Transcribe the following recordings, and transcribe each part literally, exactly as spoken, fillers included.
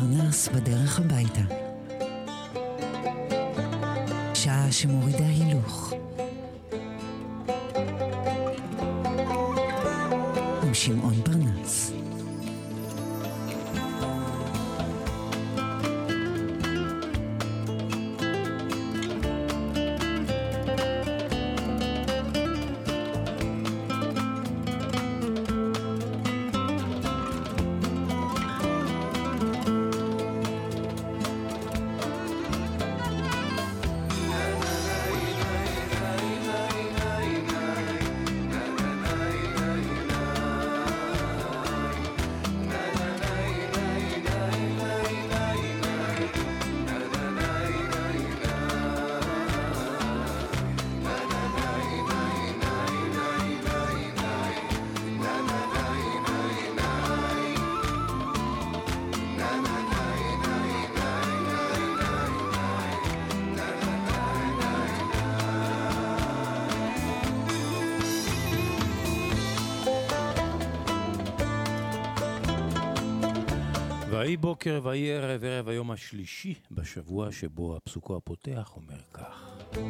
פרנס בדרך הביתה. שעה שמורידה הילוך. עם שמעון פרנס. ויהי בוקר ויהי ערב, ערב היום השלישי בשבוע שבו הפסוקו הפותח אומר כך: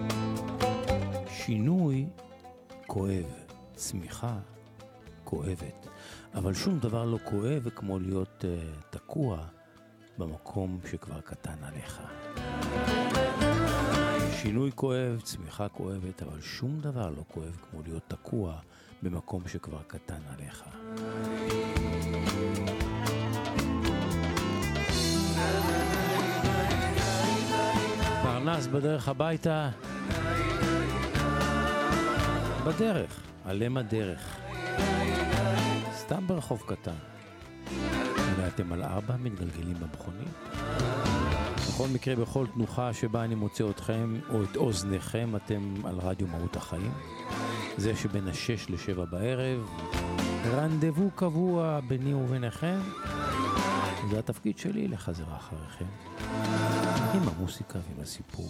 שינוי כואב, צמיחה כואבת, אבל שום דבר לא כואב כמו להיות uh, תקוע במקום שכבר קטן עליך. שינוי כואב, צמיחה כואבת, אבל שום דבר לא כואב כמו להיות תקוע במקום שכבר קטן עליך. פרנס בדרך הביתה, בדרך, עלם הדרך, סתם ברחוב קטן. אולי אתם על ארבע מתגלגלים במכונית. בכל מקרה, בכל תנוחה שבה אני מוצא אתכם או את אוזניכם, אתם על רדיו מהות החיים. זה שבין השש לשבע בערב, רנדבו קבוע ביני וביניכם. זה התפקיד שלי לחזר אחריכם עם המוסיקה ועם הסיפור.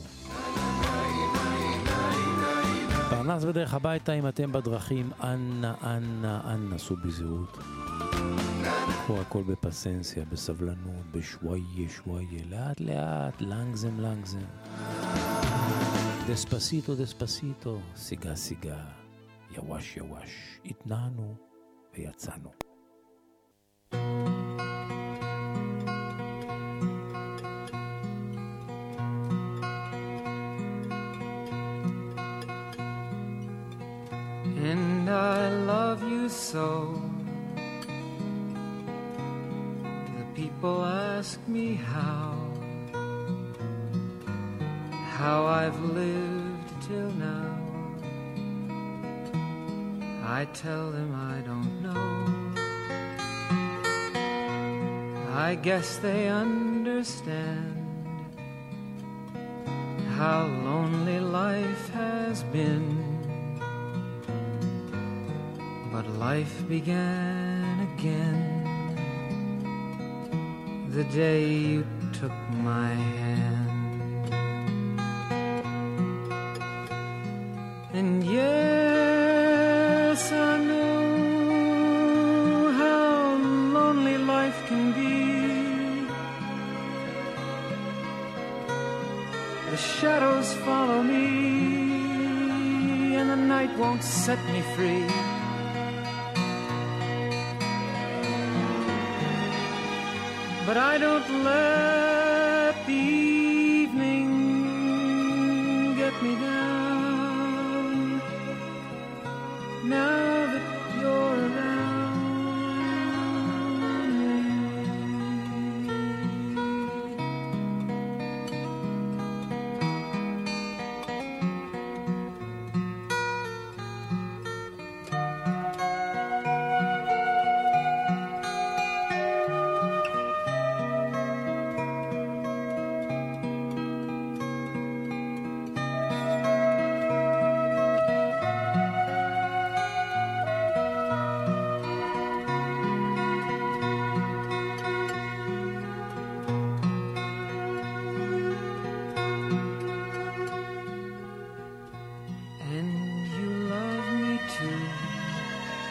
פרנס בדרך הביתה, אם אתם בדרכים, אנא, אנא, אנא, סעו בזהירות. קחו הכל בפסנסיה, בסבלנות, בשוואיה, שוואיה, לאט לאט, לנגזם, לנגזם. דספסיטו, דספסיטו, סיגה, סיגה, יווש, יווש. התנענו ויצאנו. And I love you so. The people ask me how, how I've lived till now. I tell them I don't know. I guess they understand how lonely life has been. But life began again the day you took my hand. And yes, I know how lonely life can be. The shadows follow me and the night won't set me free. But I don't let the evening get me down. Now that you're around me.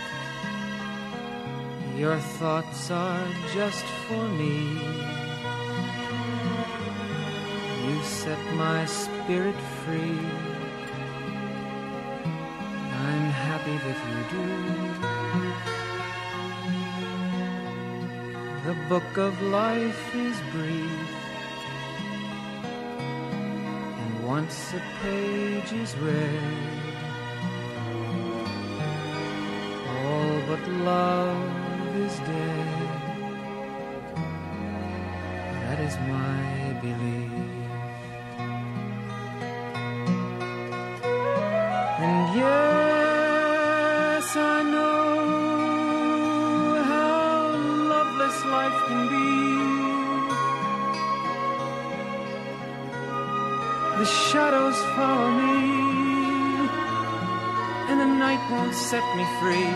Your thoughts are just for me. set my spirit free. I'm happy that you do. The book of life is brief, and once a page is read, all but love is dead. That is my belief. And yes, I know how loveless life can be. The shadows follow me, and the night won't set me free.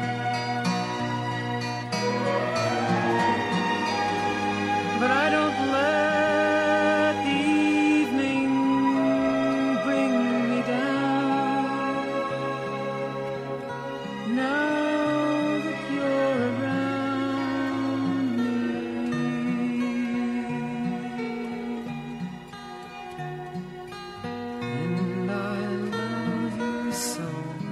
But I don't let the evening bring me down. Now that you're around me, and I love you so.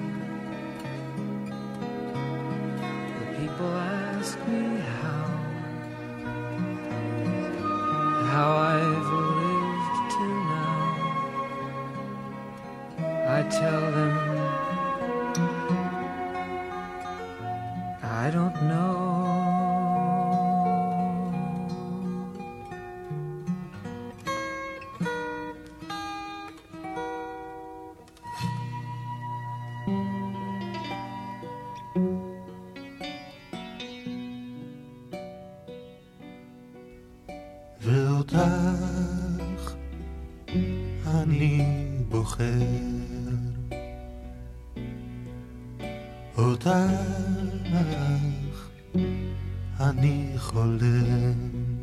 The people ask me how. How I've lived till now. I tell them I don't know. ואותך אני בוחר, אותך אני חולם,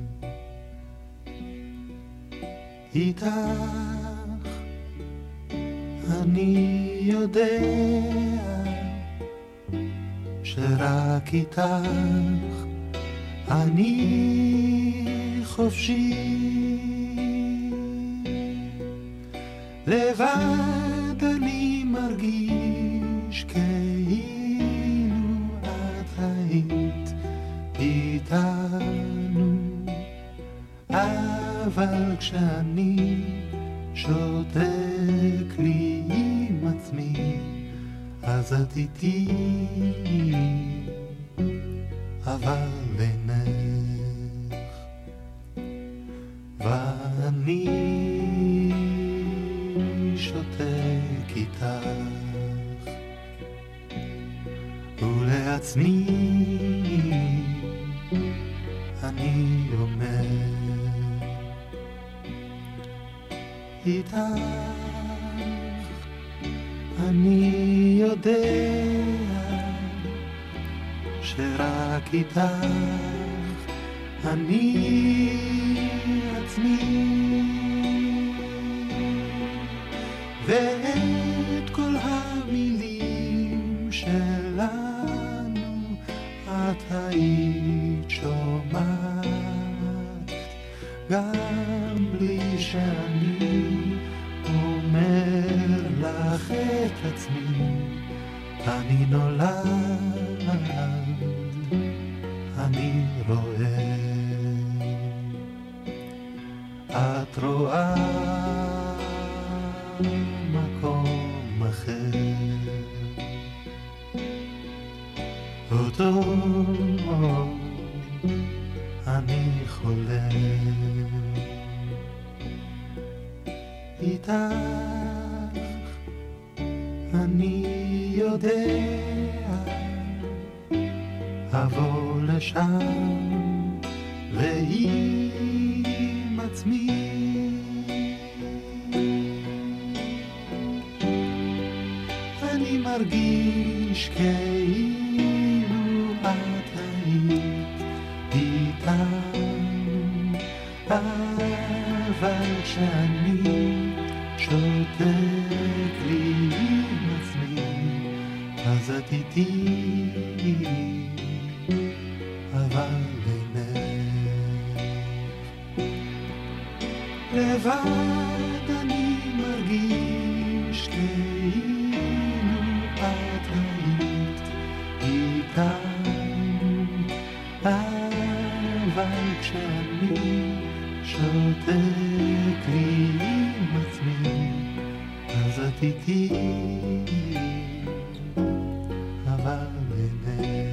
איתך אני יודע שרק איתך אני חופשי. לבד אני מרגיש כאילו את היית איתנו, אבל כשאני שותק לי עם עצמי אז את איתי, אבל אינך ואני שותק איתך ולעצמי אני אומר איתך אני יודע שרק איתך אני עצמי, ואת כל המילים שלנו את היית שומעת, גם בלי שאני אומר לך את עצמי, אני נולד, אני רואה, את רואה מקום אחר, אותו אני חולם, איתך אני יודע אבוא לשם ועם עצמי אני מרגיש כאילו את היית איתנו, אבל כשאני שותק לי עם עצמי אז את איתי, אבל אינך לבד כשאני שותק לי עם עצמי, אז את איתי, אבל אינך.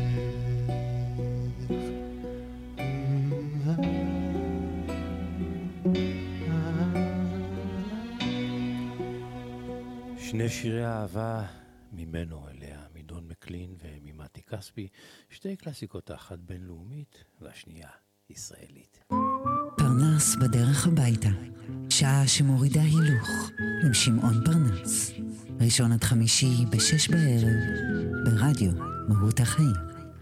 שני שירי אהבה ממנו אליה, מדון מקלין וממתי כספי, שתי קלאסיקות, אחת בינלאומית והשנייה ישראלית. פרנס בדרך הביתה, שעה שמורידה הילוך, עם שמעון פרנס. ראשון עד חמישי בשש בערב, ברדיו מהות החיים.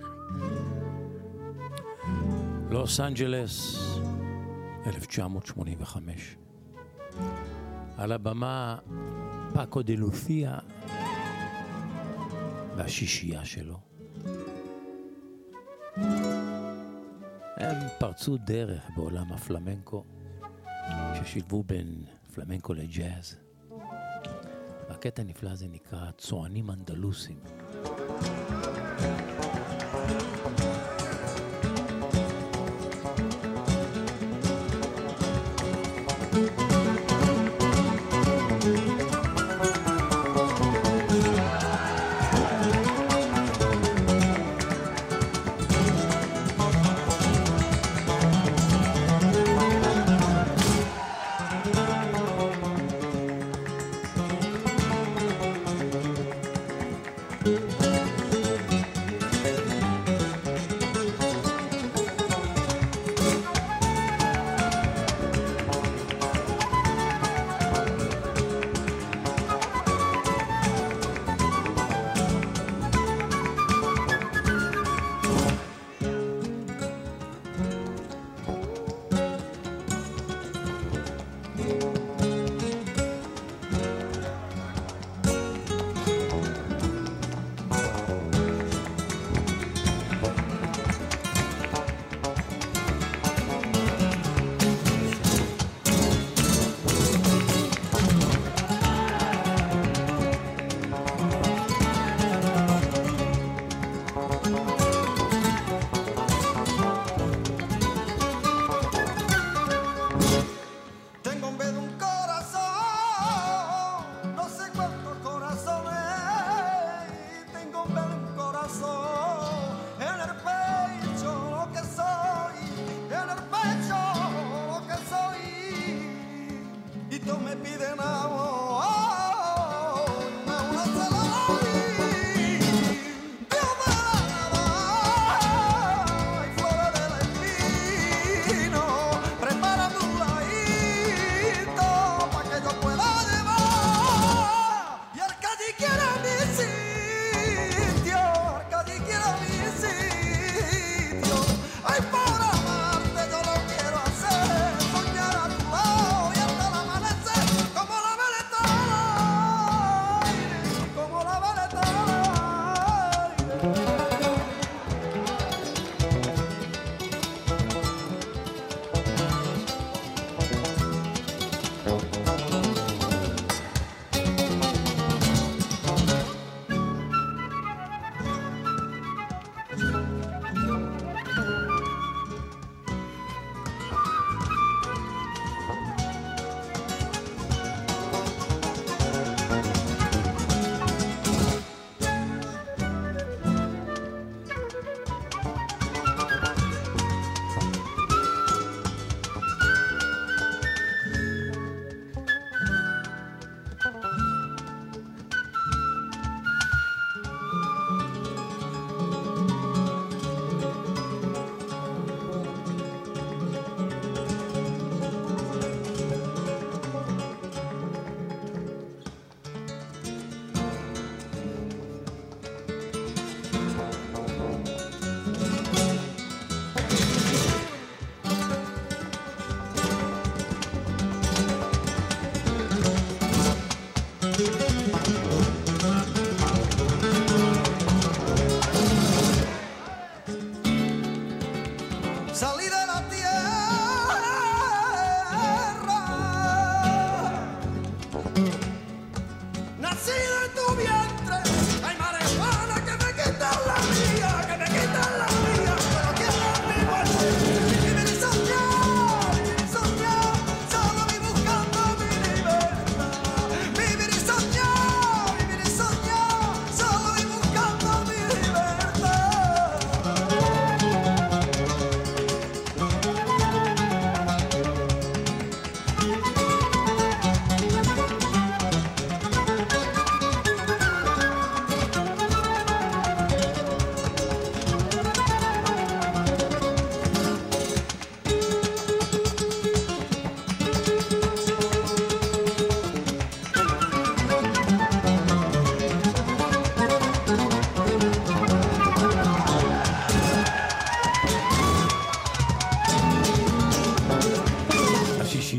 לוס אנג'לס, אלף תשע מאות שמונים וחמש. על הבמה פאקו דה לות'יה והשישייה שלו. הם פרצו דרך בעולם הפלמנקו, ששילבו בין פלמנקו לג'אז. והקטע הנפלא הזה נקרא צוענים אנדלוסים.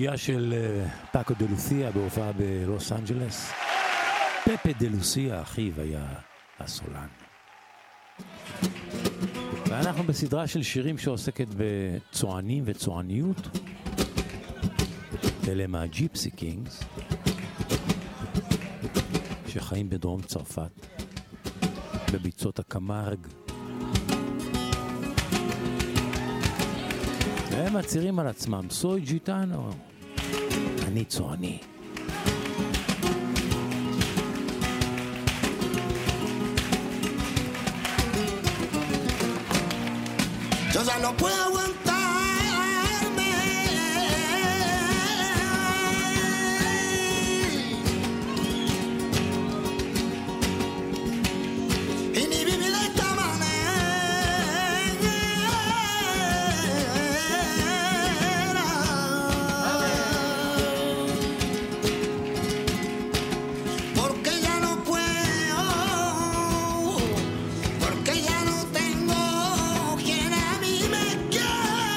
השלישייה של פאקו דה לוסיה בהופעה בלוס אנג'לס. פפה דה לוסיה, אחיו, היה הסולן. ואנחנו בסדרה של שירים שעוסקת בצוענים וצועניות. אלה מהג'יפסי קינגס, שחיים בדרום צרפת, בביצות הקמרג. והם מצהירים על עצמם, סוי ג'יטאנו, אני צועני. Yo ya no puedo aguantarme y ni vivir de esta manera, porque ya no puedo, porque ya no tengo quien a mí me quiera.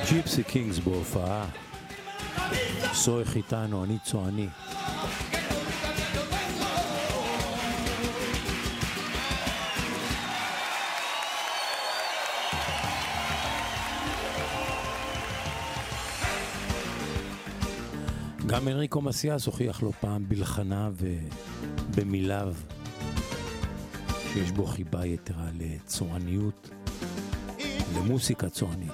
ג'יפסי קינגס בהופעה, סורך איתנו, אני צועני. גם אנריקו מסיאס הוכיח לו פעם בלחנה ובמיליו שיש בו חיבה יתרה לצועניות, למוסיקה צוענית.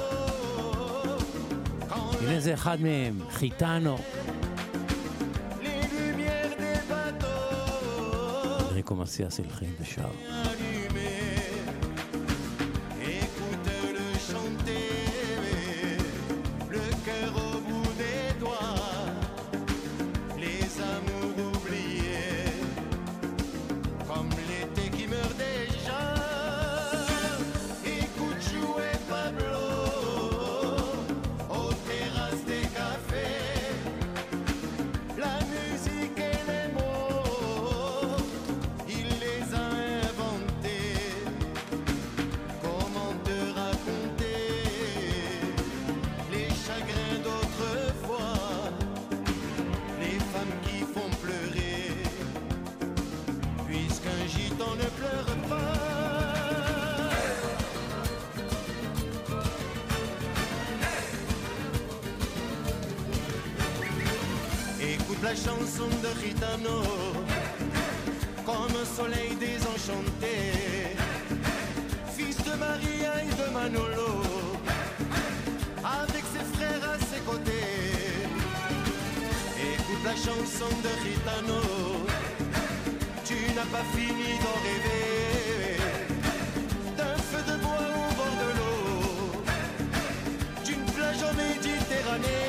הנה זה אחד מהם, חיטאנו. אנריקו מסיאס הלחין ושר. La chanson de Gitano, comme un soleil désenchanté, fils de Maria et de Manolo, avec ses frères à ses côtés. Écoute la chanson de Gitano, tu n'as pas fini d'en rêver, d'un feu de bois au bord de l'eau, d'une plage en Méditerranée.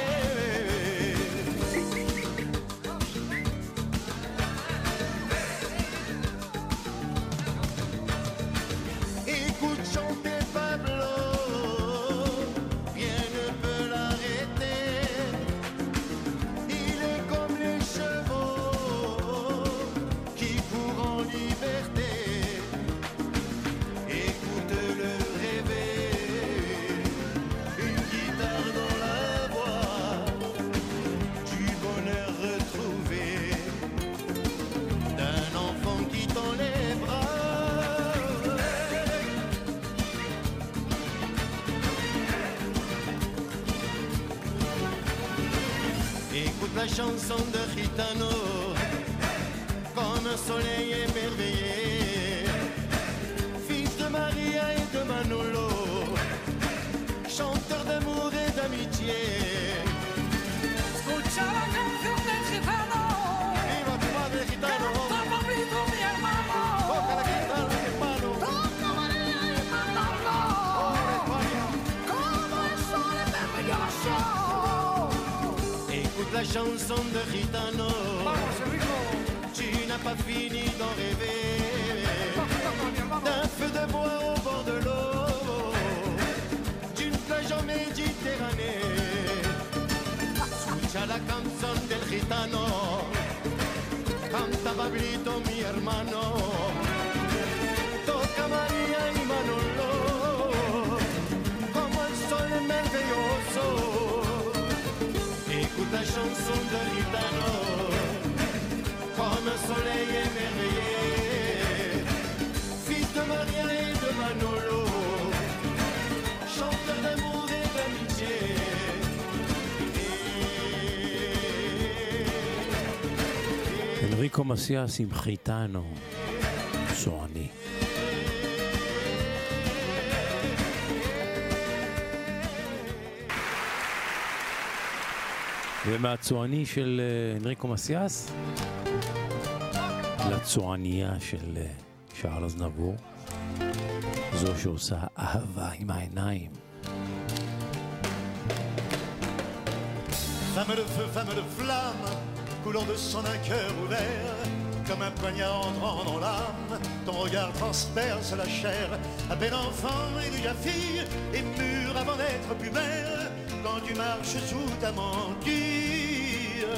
La chanson de Gitano, comme un soleil émerveillé, fils de Maria et de Manolo, chanteur d'amour et d'amitié. Escucha la canción del gitano, viva tu madre gitano, canta Pablito mi hermano, toca la guitarra hermano, toca María y Manolo, oh España, como el sol maravilloso. Écoute la chanson de Gitano, Vamos, Enrico. Tu n'as pas fini d'en rêver, d'un feu de bois au bord de l'eau, d'une plage en Méditerranée. Escucha la canción del gitano, canta Pablito mi hermano, toca María y Manolo, como el sol maravilloso. Écoute la chanson de Gitano, comme un soleil émerveillé, fils de Maria et de Manolo, chanteur d'amour et d'amitié. אנריקו מסיאס עם חיטאנו, צועני. ומהצועני של אנריקו מסיאס לצועניה של שארל אזנבור, זו שעושה אהבה עם העיניים. Femme de feu, femme de flamme, coulant de son un cœur ouvert, comme un poignard entrant dans l'âme, ton regard transperce la chair, à peine enfant et déjà fille, et mûre avant d'être plus mère, quand tu marches sous ta mantille.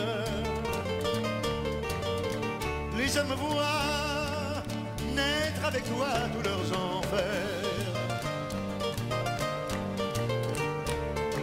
Les hommes voient naître avec toi tous leurs enfers.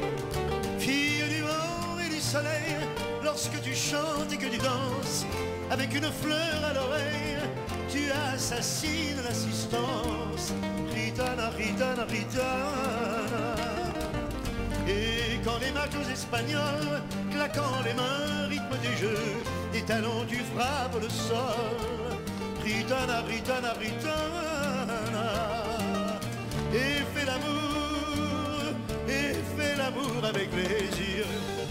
soleil, lorsque tu chantes et que tu danses, avec une fleur à l'oreille, tu assassines l'assistance. Ritana, ritana, ritana. Et quand les machos espagnols, claquant les mains, rythment des jeux, des talons tu frappes le sol. Ritana, ritana, ritana. Et fais l'amour, et fais l'amour avec plaisir.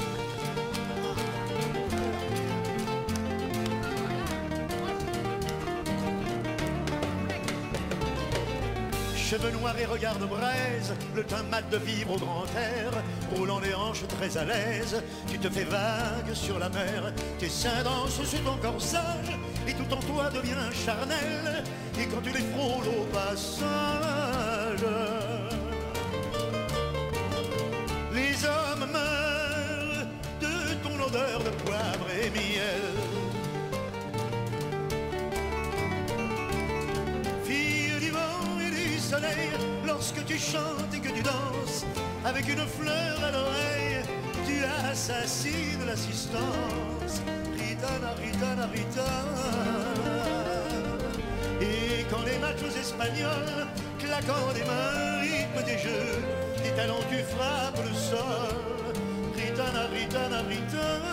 Cheveux noirs et regard de braise, le teint mat de vivre au grand air, roulant les hanches très à l'aise, tu te fais vague sur la mer, tes seins dansent sur ton corsage, et tout en toi devient charnel, et quand tu les frôles au passage, les hommes meurent de ton odeur de poivre et miel. Lorsque tu chantes et que tu danses, avec une fleur à l'oreille, tu assassines l'assistance. Ritana, ritana, ritana. Et quand les machos espagnols, claquant des mains, rythment des jeux, des talons tu frappes le sol. Ritana, ritana, ritana.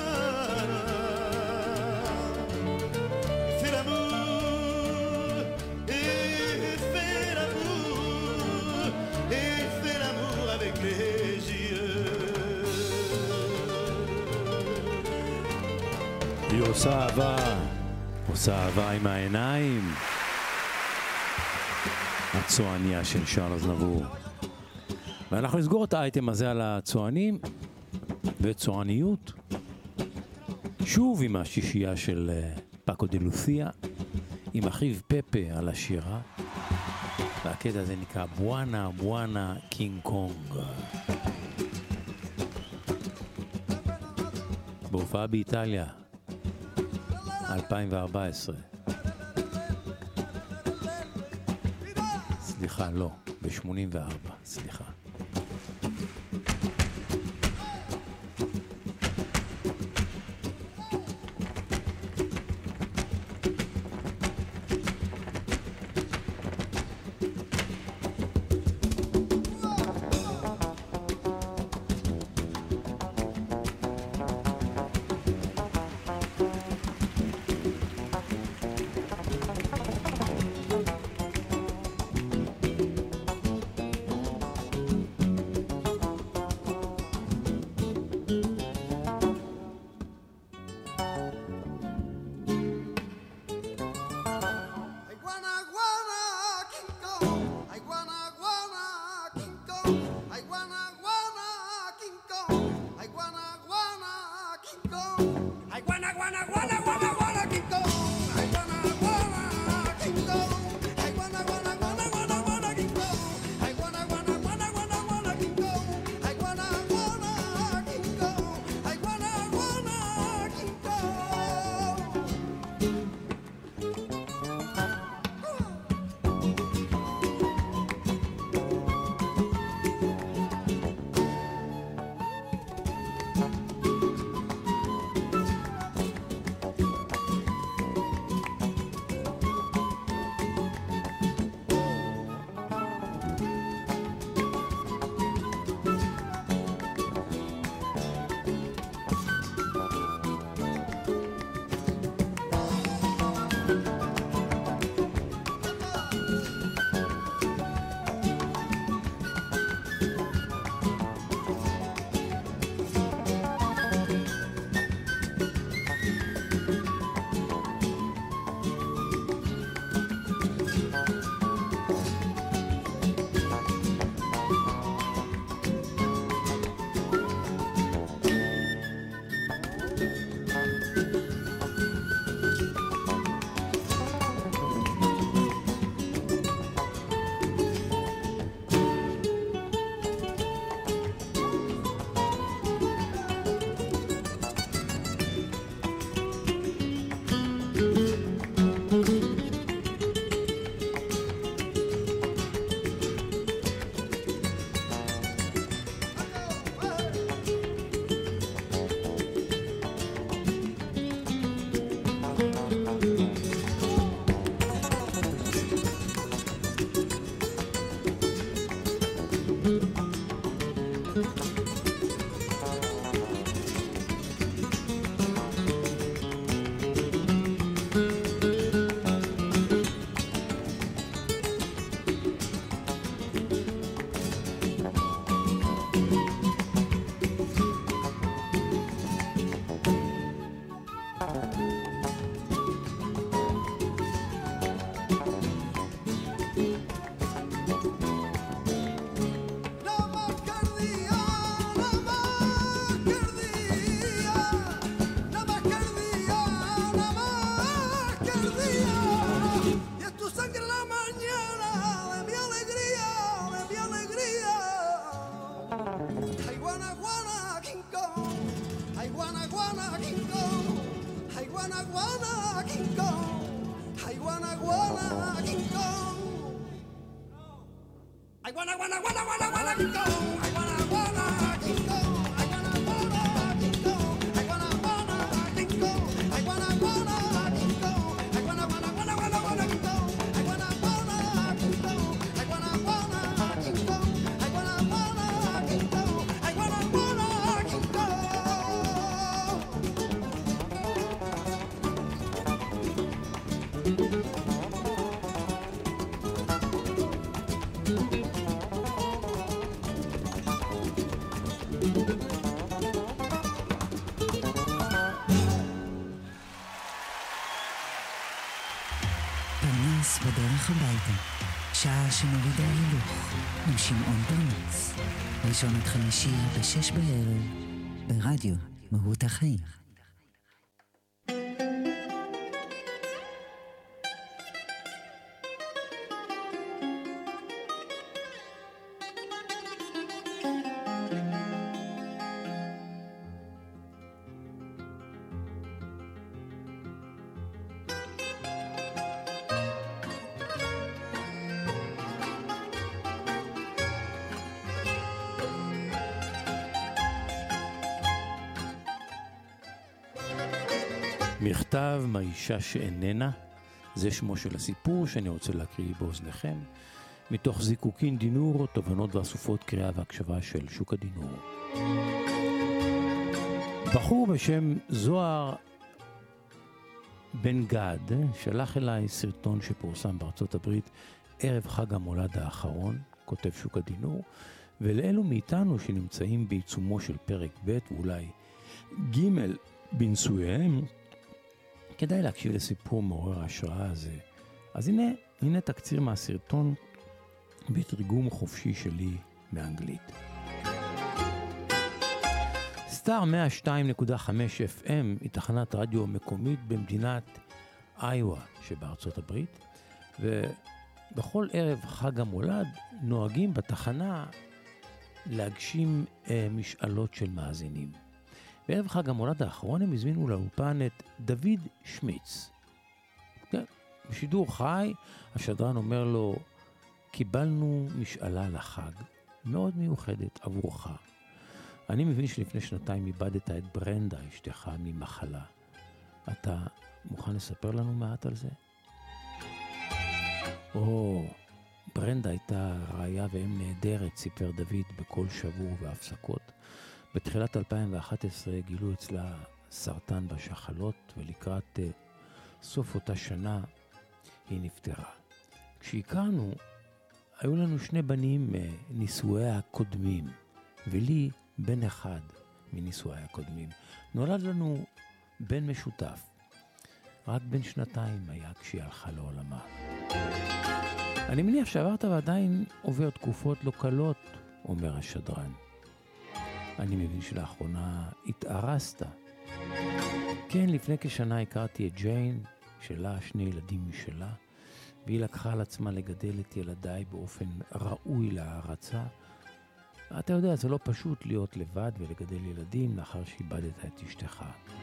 Fais l'amour et fais l'amour, et fais l'amour avec les yeux. היא עושה אהבה, עושה אהבה עם העיניים. הצועניה של שרל אזנבור. ואנחנו נסגור את האייטם הזה על הצוענים וצועניות. שוב עם השישייה של פאקו דה לוסיה, עם אחיו פפה על השירה. והקטע הזה נקרא בואנה בואנה קינג קונג. בהופעה באיטליה, אלפיים וארבע עשרה. סליחה, לא, ב-שמונים וארבע, סליחה. פרנס בדרך הביתה, שעה שמורידה הילוך, עם שמעון פרנס. ראשון עד חמישי בשש בערב, ברדיו מהות החיים. מכתב מהאישה שאיננה, זה שמו של הסיפור שאני רוצה להקריא באוזניכם, מתוך זיקוקין דינור, תובנות ואסופות קריאה והקשבה של שוק הדינור. בחור בשם זוהר בן גד שלח אליי סרטון שפורסם בארצות הברית ערב חג המולד האחרון, כותב שוק הדינור, ולאלו מאיתנו שנמצאים בעיצומו של פרק ב' ואולי ג' בנישואיהם, כדאי להקשיב לסיפור מעורר ההשראה הזה. אז הנה, הנה תקציר מהסרטון בתרגום חופשי שלי מאנגלית. סטאר מאה ושתיים נקודה חמש אף אם היא תחנת רדיו מקומית במדינת איווה שבארצות הברית, ובכל ערב חג המולד נוהגים בתחנה להגשים אה, משאלות של מאזינים. בערב חג המולד האחרון הם הזמינו לאולפן את דוד שמיץ. כן, בשידור חי, השדרן אומר לו, קיבלנו משאלה לחג, מאוד מיוחדת עבורך. אני מבין שלפני שנתיים איבדת את ברנדה, אשתך, ממחלה. אתה מוכן לספר לנו מעט על זה? או, ברנדה הייתה רעיה ואם נהדרת, סיפר דוד בכל שבוע והפסקות. בתחילת אלפיים ואחת עשרה גילו אצלה סרטן בשחלות, ולקראת uh, סוף אותה שנה היא נפטרה. כשהכרנו, היו לנו שני בנים מנישואיה הקודמים, ולי בן אחד מנישואיה הקודמים. נולד לנו בן משותף. רק בן שנתיים היה כשהיא הלכה לעולמה. אני מניח שעברת ועדיין עובר תקופות לא קלות, אומר השדרן. אני מבין שלאחרונה התארסת. כן, לפני כשנה הכרתי את ג'יין, שלה שני ילדים משלה, והיא לקחה על עצמה לגדל את ילדיי באופן ראוי להערצה. אתה יודע, זה לא פשוט להיות לבד ולגדל ילדים לאחר שאיבדת את אשתך.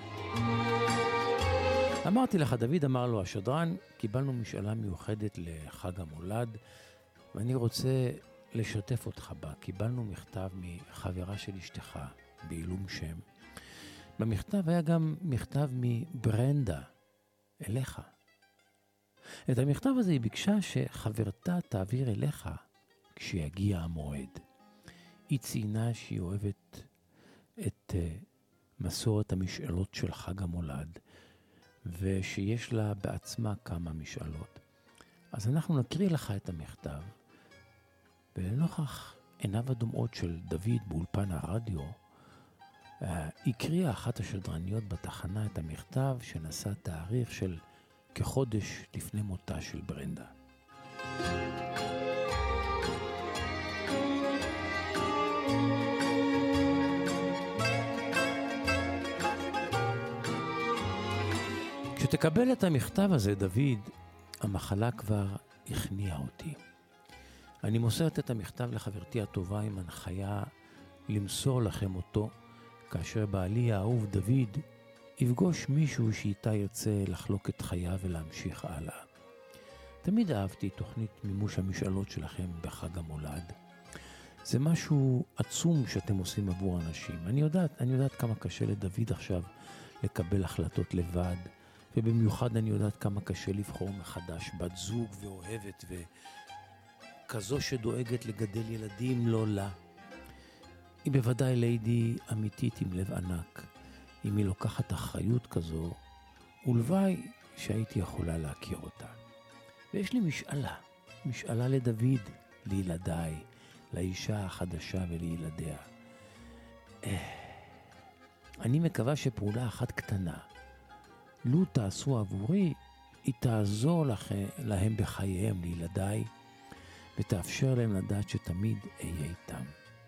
אמרתי לך, דוד אמר לו, השדרן, קיבלנו משאלה מיוחדת לחג המולד, ואני רוצה לשתף אותך בה. קיבלנו מכתב מחברה של אשתך בעילום שם. במכתב היה גם מכתב מברנדה אליך. את המכתב הזה היא ביקשה שחברתה תעביר אליך כשיגיע המועד. היא ציינה שהיא אוהבת את uh, מסורת המשאלות של חג המולד, ושיש לה בעצמה כמה משאלות. אז אנחנו נקריא לך את המכתב, ולנוכח עיניו הדומעות של דוד באולפן הרדיו, uh, הקריאה אחת השדרניות בתחנה את המכתב שנשא תאריך של כחודש לפני מותה של ברנדה. כשתקבל את המכתב הזה, דוד, המחלה כבר הכניעה אותי. אני מוסרת את המכתב לחברתי הטובה עם הנחיה למסור לכם אותו, כאשר בעלי האהוב דוד יפגוש מישהו שאיתה ירצה לחלוק את חייו ולהמשיך הלאה. תמיד אהבתי תוכנית מימוש המשאלות שלכם בחג המולד. זה משהו עצום שאתם עושים עבור אנשים. אני יודעת, אני יודעת כמה קשה לדוד עכשיו לקבל החלטות לבד, ובמיוחד אני יודעת כמה קשה לבחור מחדש בת זוג ואוהבת וכזו שדואגת לגדל ילדים לא לה. היא בוודאי לידי אמיתית עם לב ענק. אם היא לוקחת אחריות כזו, ולוואי שהייתי יכולה להכיר אותה. ויש לי משאלה, משאלה לדוד, לילדיי, לאישה החדשה ולילדיה. אני מקווה שפעולה אחת קטנה, לו תעשו עבורי, היא תעזור לכם, להם בחייהם, לילדיי, ותאפשר להם לדעת שתמיד אהיה איתם.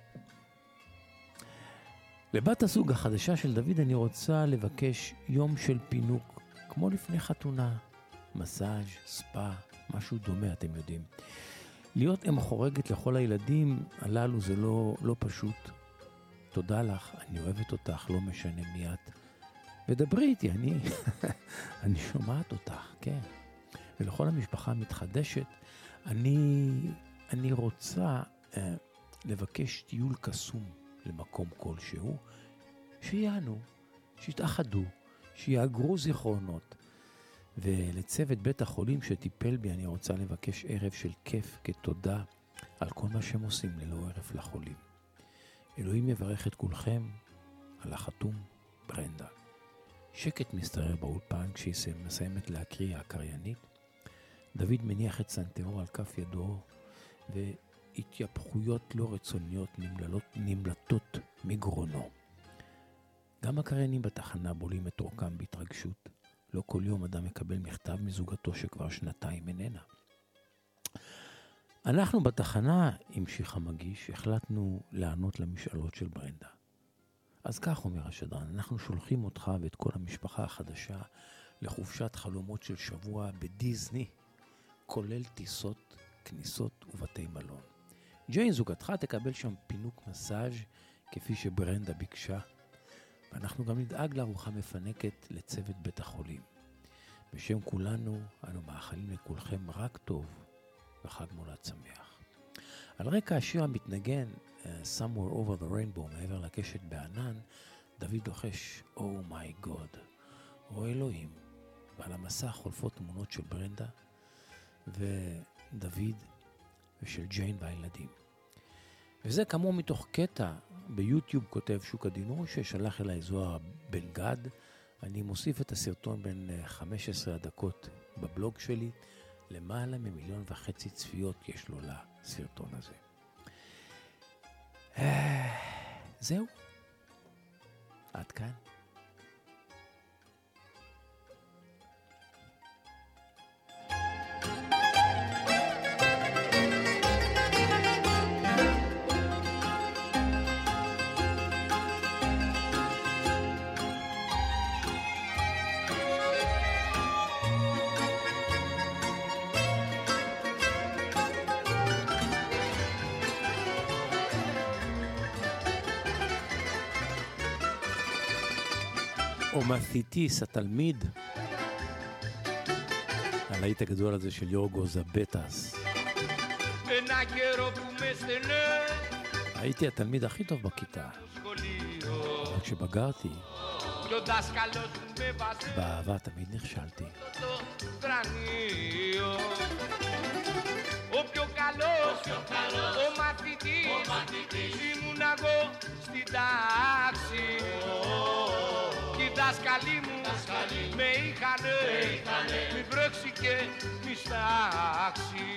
לבת הזוג החדשה של דוד אני רוצה לבקש יום של פינוק, כמו לפני חתונה, מסאז', ספא, משהו דומה, אתם יודעים. להיות אם חורגת לכל הילדים הללו זה לא, לא פשוט. תודה לך, אני אוהבת אותך, לא משנה מי את. ודברי איתי, אני, אני שומעת אותך, כן. ולכל המשפחה המתחדשת, אני, אני רוצה אה, לבקש טיול קסום למקום כלשהו, שיענו, שיתאחדו, שיאגרו זיכרונות. ולצוות בית החולים שטיפל בי, אני רוצה לבקש ערב של כיף כתודה על כל מה שהם עושים ללא ערב לחולים. אלוהים יברך את כולכם על החתום ברנדה. שקט מסתרר באולפן כשהיא מסיימת להקריא הקריינית. דוד מניח את סנטרו על כף ידו, והתייפחויות לא רצוניות נמללות, נמלטות מגרונו. גם הקריינים בתחנה בולים את אורכם בהתרגשות. לא כל יום אדם מקבל מכתב מזוגתו שכבר שנתיים איננה. אנחנו בתחנה, המשיך המגיש, החלטנו לענות למשאלות של ברנדה. אז כך אומר השדרן, אנחנו שולחים אותך ואת כל המשפחה החדשה לחופשת חלומות של שבוע בדיזני, כולל טיסות, כניסות ובתי מלון. ג'יין זוגתך תקבל שם פינוק מסאז' כפי שברנדה ביקשה, ואנחנו גם נדאג לארוחה מפנקת לצוות בית החולים. בשם כולנו אנו מאחלים לכולכם רק טוב וחג מולד שמח. על רקע השיר המתנגן uh, Somewhere Over the Rainbow, מעבר לקשת בענן, דוד לוחש Oh my God, או אלוהים, ועל המסך חולפות תמונות של ברנדה ודוד ושל ג'יין והילדים. וזה כמו מתוך קטע ביוטיוב כותב שוק הדינור ששלח אליי זוהר בן גד. אני מוסיף את הסרטון בין חמש עשרה דקות בבלוג שלי. למעלה ממיליון וחצי צפיות יש לו לסרטון הזה. זהו. עד כאן. אומתיטיס התלמיד, הלהיט הגדול הזה של יורגו זבטס. הייתי התלמיד הכי טוב בכיתה, אבל כשבגרתי באהבה תמיד נכשלתי. O più calor, o matiti, τάξη. Κι οι δάσκαλοι μου με είχανε, μη βρέξει και μη στάξει.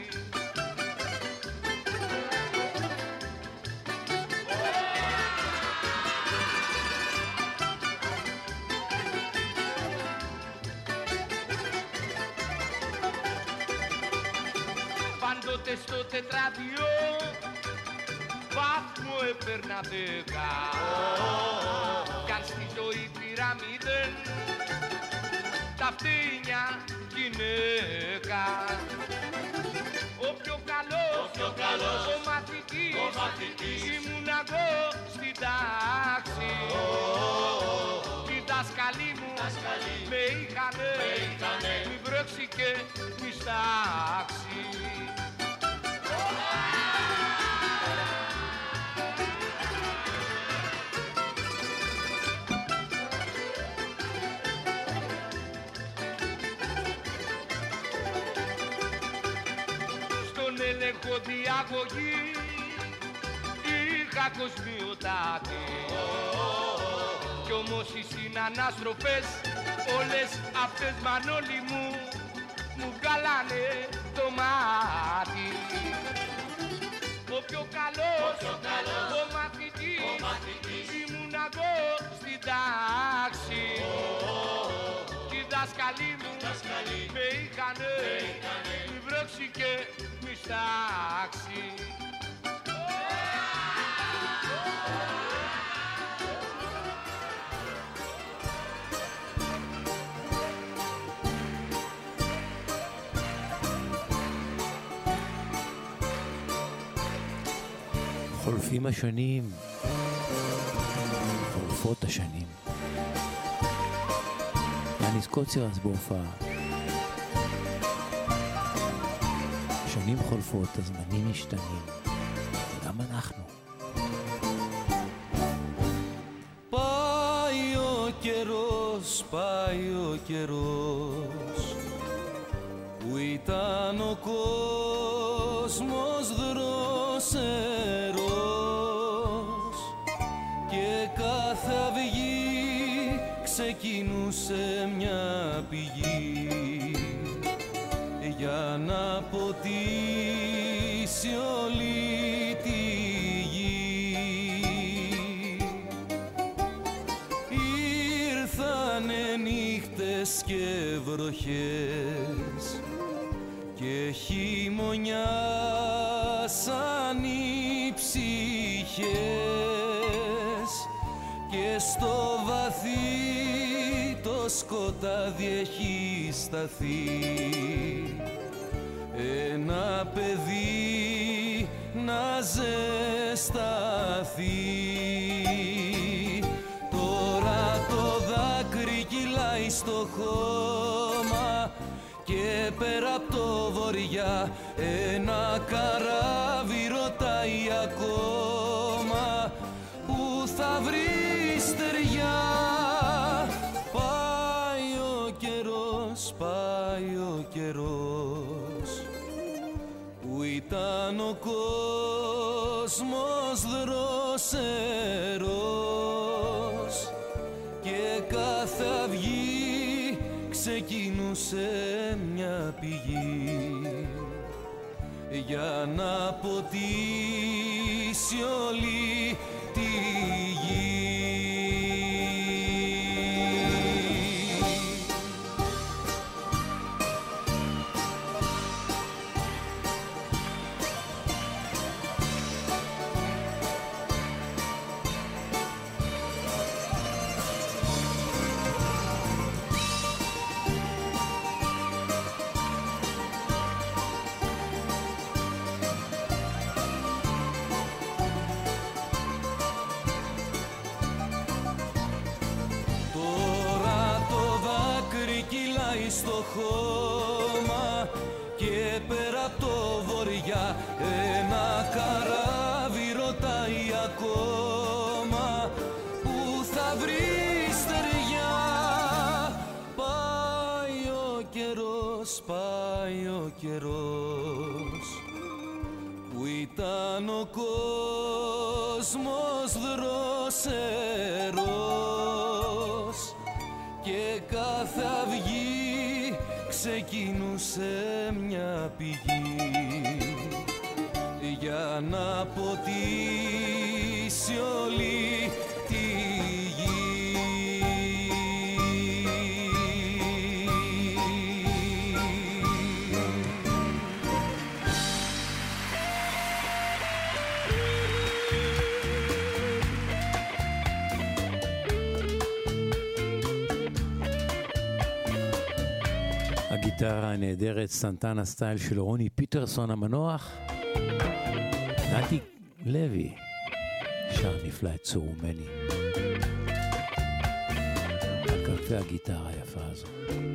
Πάντοτε στο τετράδιο βαθμό έπαιρνα δέκα. Κι αν στη ζωή πήρα μηδέν, τα φτύνια γυναίκα. Ο πιο καλός, ο, καλός, ο μαθητής, ο μαθητής ήμουν εγώ στην τάξη. Οι δάσκαλοι μου με είχανε, μη βρέξει και μη στάξει. Έλεγχο διαγωγή είχα κοσμιοτάτη. Κι όμως οι συνανάστροφες όλες αυτές μανόλοι μου μου βγάλανε το μάτι. Ο πιο καλός, ο, καλός, ο μαθητής, ο μαθητής ήμουν εγώ στην τάξη. Κι οι δάσκαλοι μου με είχανε, μη βρέξει και μη στάξει. חולפים השנים, חולפות השנים. יאניס קוצר אז בהופעה. שנים חולפות, הזמנים משתנים. וגם אנחנו. Πάει ο καιρός, πάει ο καιρός, που ήταν ο κόσμος δροσερός και κάθε αυγή ξεκινούσε μια πηγή για να ποτίσει όλη τη γη. Ήρθανε νύχτες και βροχές και χειμωνιάσαν οι ψυχές και στο βαθύ το σκοτάδι έχει σταθεί ένα παιδί να ζεσταθεί. Τώρα το δάκρυ κυλάει στο χώμα και πέρα απ' το βορειά ένα καράβι ρωτάει ακόμα που θα βρει στεριά. Πάει ο καιρός, πάει ο καιρός, που ήταν ο κόσμος δροσερός και κάθε αυγή ξεκινούσε μια πηγή για να ποτίσει όλη τη γη. Στο χώμα και πέρα απ' το βορειά ένα καράβι ρωτάει ακόμα που θα βρει στεριά. Πάει ο καιρός, πάει ο καιρός, που ήταν ο κόσμος δρόσερος δροσερός και κάθε αυγή ξεκινούσε μια πηγή για να ποτίσει όλη τη γη. הגיטרה הנהדרת סנטנה סטייל של רוני פיטרסון המנוח. נתי לוי שר נפלא את צורומני על כנפי הגיטרה היפה הזו.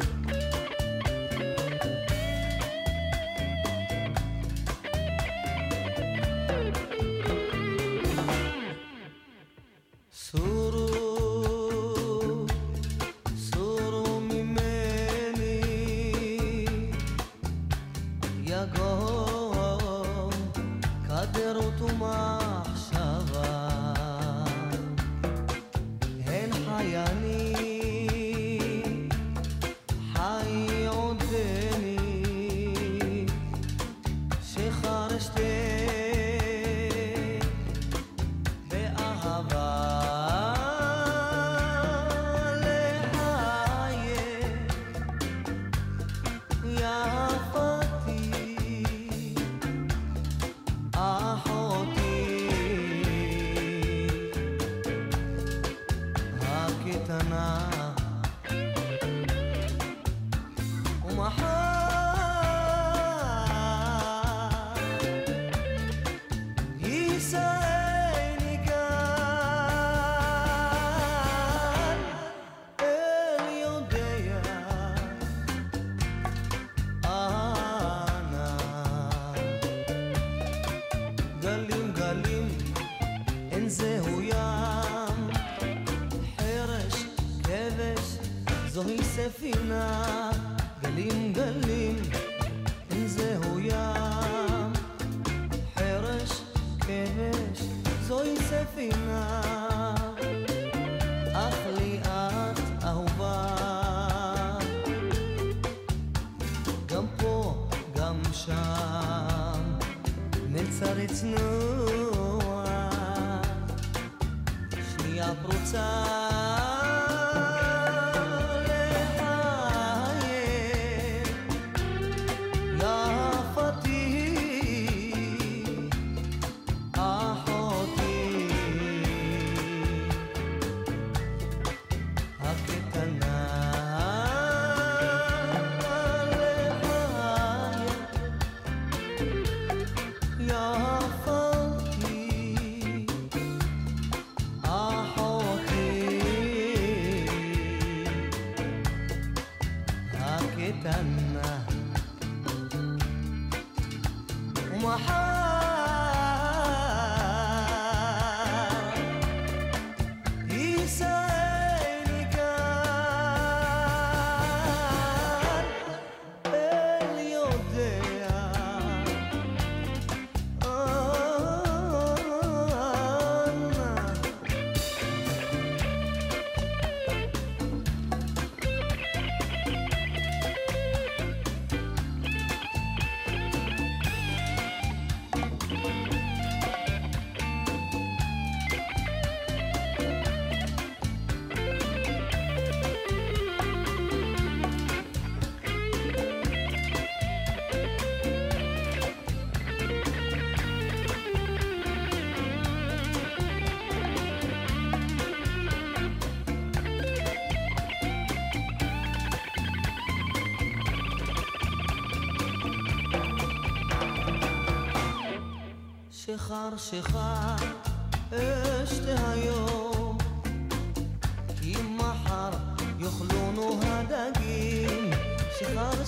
שחר שחר אשתה היום כי מחר יאכלונו הדגים שחר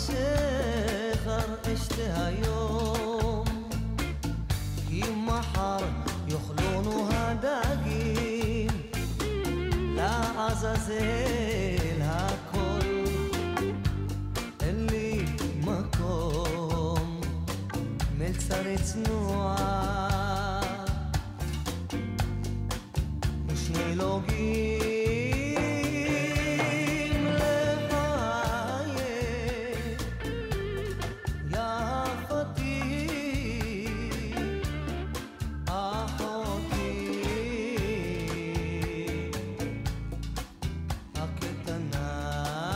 שחר אשתה היום כי מחר יאכלונו הדגים לעזאזל הכל אין לי מקום מלצר צנוע שני לוגים לחיי יפתי אחותי הקטנה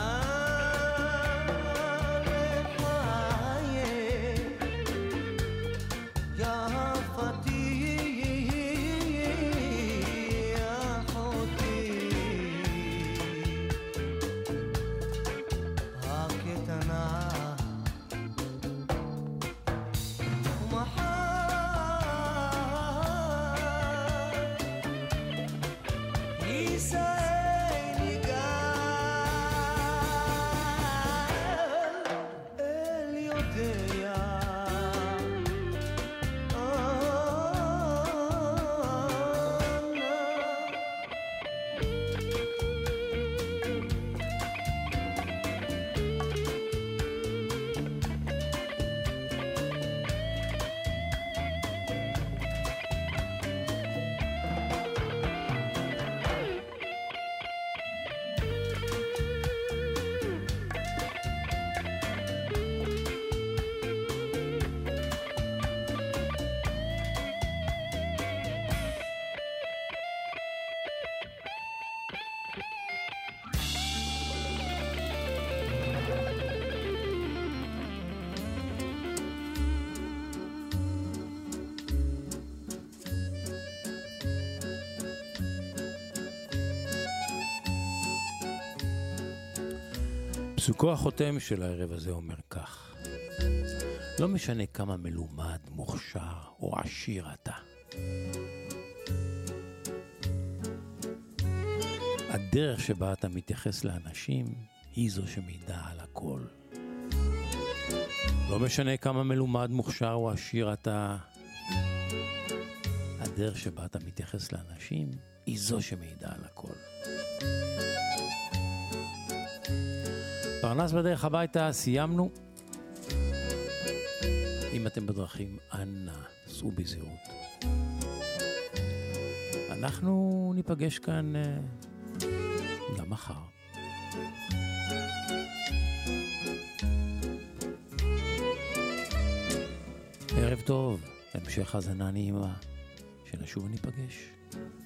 פסוקו החותם של הערב הזה אומר כך: לא משנה כמה מלומד, מוכשר או עשיר אתה, הדרך שבה אתה מתייחס לאנשים היא זו שמעידה על הכל. לא משנה כמה מלומד, מוכשר או עשיר אתה, הדרך שבה אתה מתייחס לאנשים היא זו שמעידה על הכל. פרנס בדרך הביתה, סיימנו. אם אתם בדרכים, אנא, סעו בזהירות. אנחנו ניפגש כאן uh, גם מחר. ערב טוב, המשך הזנה נעימה, שנשוב וניפגש.